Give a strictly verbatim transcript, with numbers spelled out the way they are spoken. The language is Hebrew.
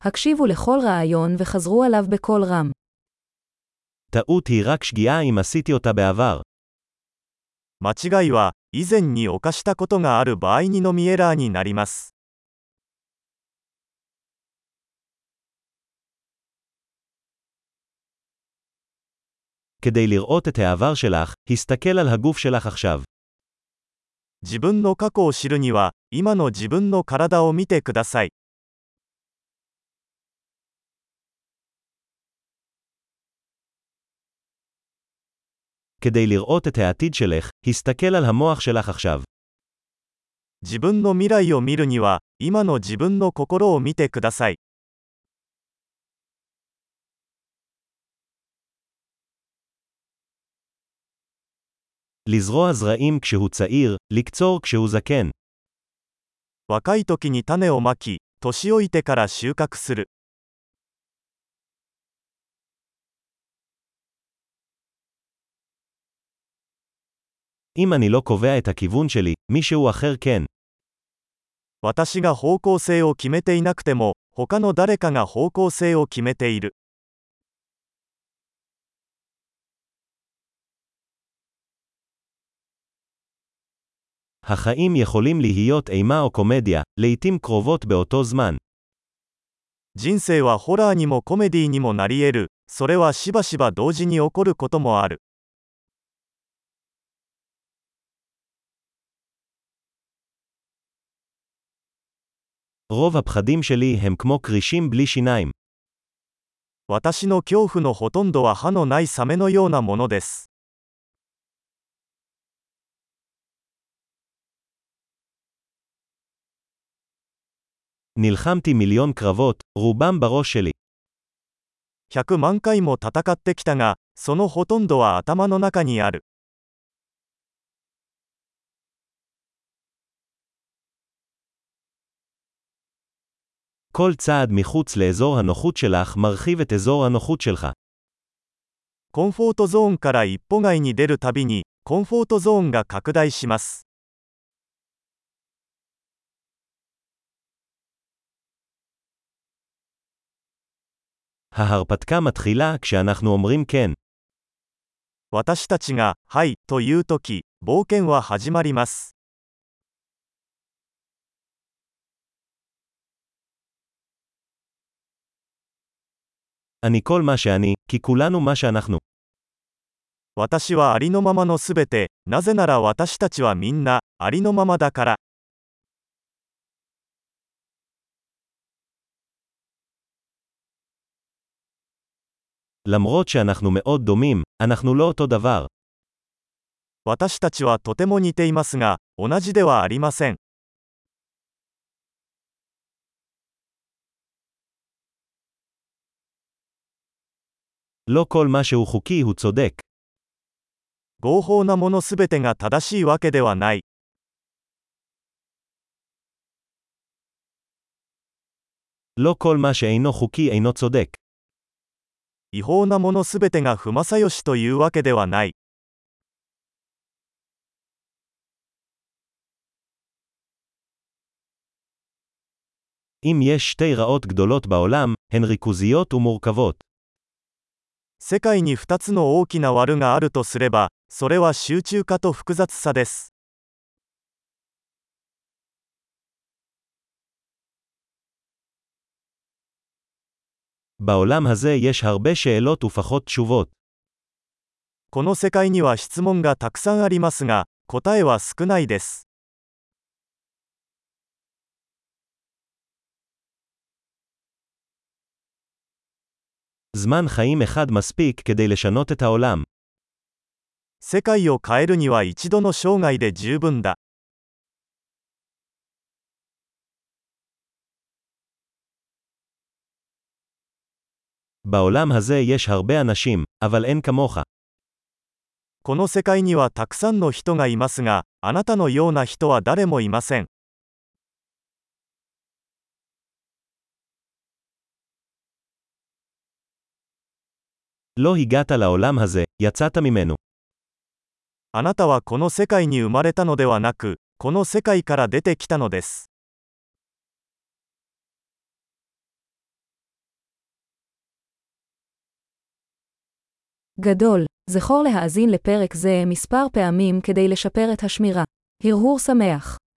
הקשיבו לכל רעיון וחזרו עליו בקול רם. טעות היא רק שגיאה אם עשיתי אותה בעבר. 間違いは、以前に犯したことがある場合にのみエラーになります。 כדי לראות את העבר שלך, הסתכל על הגוף שלך עכשיו. 自分の過去を知るには、今の自分の体を見てください。 כדי לראות את העתיד שלך, הסתכל על המוח שלך עכשיו. 自分の未来を見るには、今の自分の心を見てください。 לזרוע זרעים כשהוא צעיר, לקצור כשהוא זקן. 若い時に種をまき、年老いてから収穫する。 אם אני לא קובע את הכיוון שלי, מישהו אחר כן. 私が方向性を決めていなくても、他の誰かが方向性を決めている。 החיים יכולים להיות אימה או קומדיה, לעתים קרובות באותו זמן. 人生はホラーにもコメディにもなり得る。それはしばしば同時に起こることもある。 רוב הפחדים שלי הם כמו קרישים בלי שיניים. 私の恐怖のほとんどは歯のないサメのようなものです。 נלחמתי מיליון קרבות, רובם בראש שלי. 百万回も戦ってきたが、そのほとんどは頭の中にある。 כל צעד מחוץ לאזור הנוחות שלך מרחיב את אזור הנוחות שלך. コンフォートゾーンから一歩外に出るたびに、コンフォートゾーンが拡大します。 ההרפתקה מתחילה כשאנחנו אומרים כן. 私たちが、はい、というとき、冒険は始まります。 אני כל מה שאני, כי כולנו מה שאנחנו. 私はありのままのすべて、なぜなら私たちはみんな、ありのままだから。 למרות שאנחנו מאוד דומים, אנחנו לא אותו דבר. 私たちはとても似ていますが、同じではありません。 לא כל מה שהוא חוקי הוא צודק. 合法なものすべてが正しいわけではない。 לא כל מה שאינו חוקי אינו צודק. 違法なものすべてが不正義というわけではない。 אם יש שתי רעות גדולות בעולם, הן ריכוזיות ומורכבות. 世界に二つの大きな悪があるとすれば、それは集中化と複雑さです。 בעולם הזה יש הרבה שאלות ופחות תשובות. この世界には質問がたくさんありますが、答えは少ないです。 זמן חיים אחד מספיק כדי לשנות את העולם. 世界を変えるには一度の生涯で十分だ。 בעולם הזה יש הרבה אנשים, אבל אין כמוך. この世界にはたくさんの人がいますが、あなたのような人は誰もいません。 לא הגעת לעולם הזה, יצאת ממנו. あなたはこの世界に生まれたのではなく、この世界から出てきたのです。 גדול. זכור להאזין לפרק זה מספר פעמים כדי לשפר את השמירה. הרהור שמח.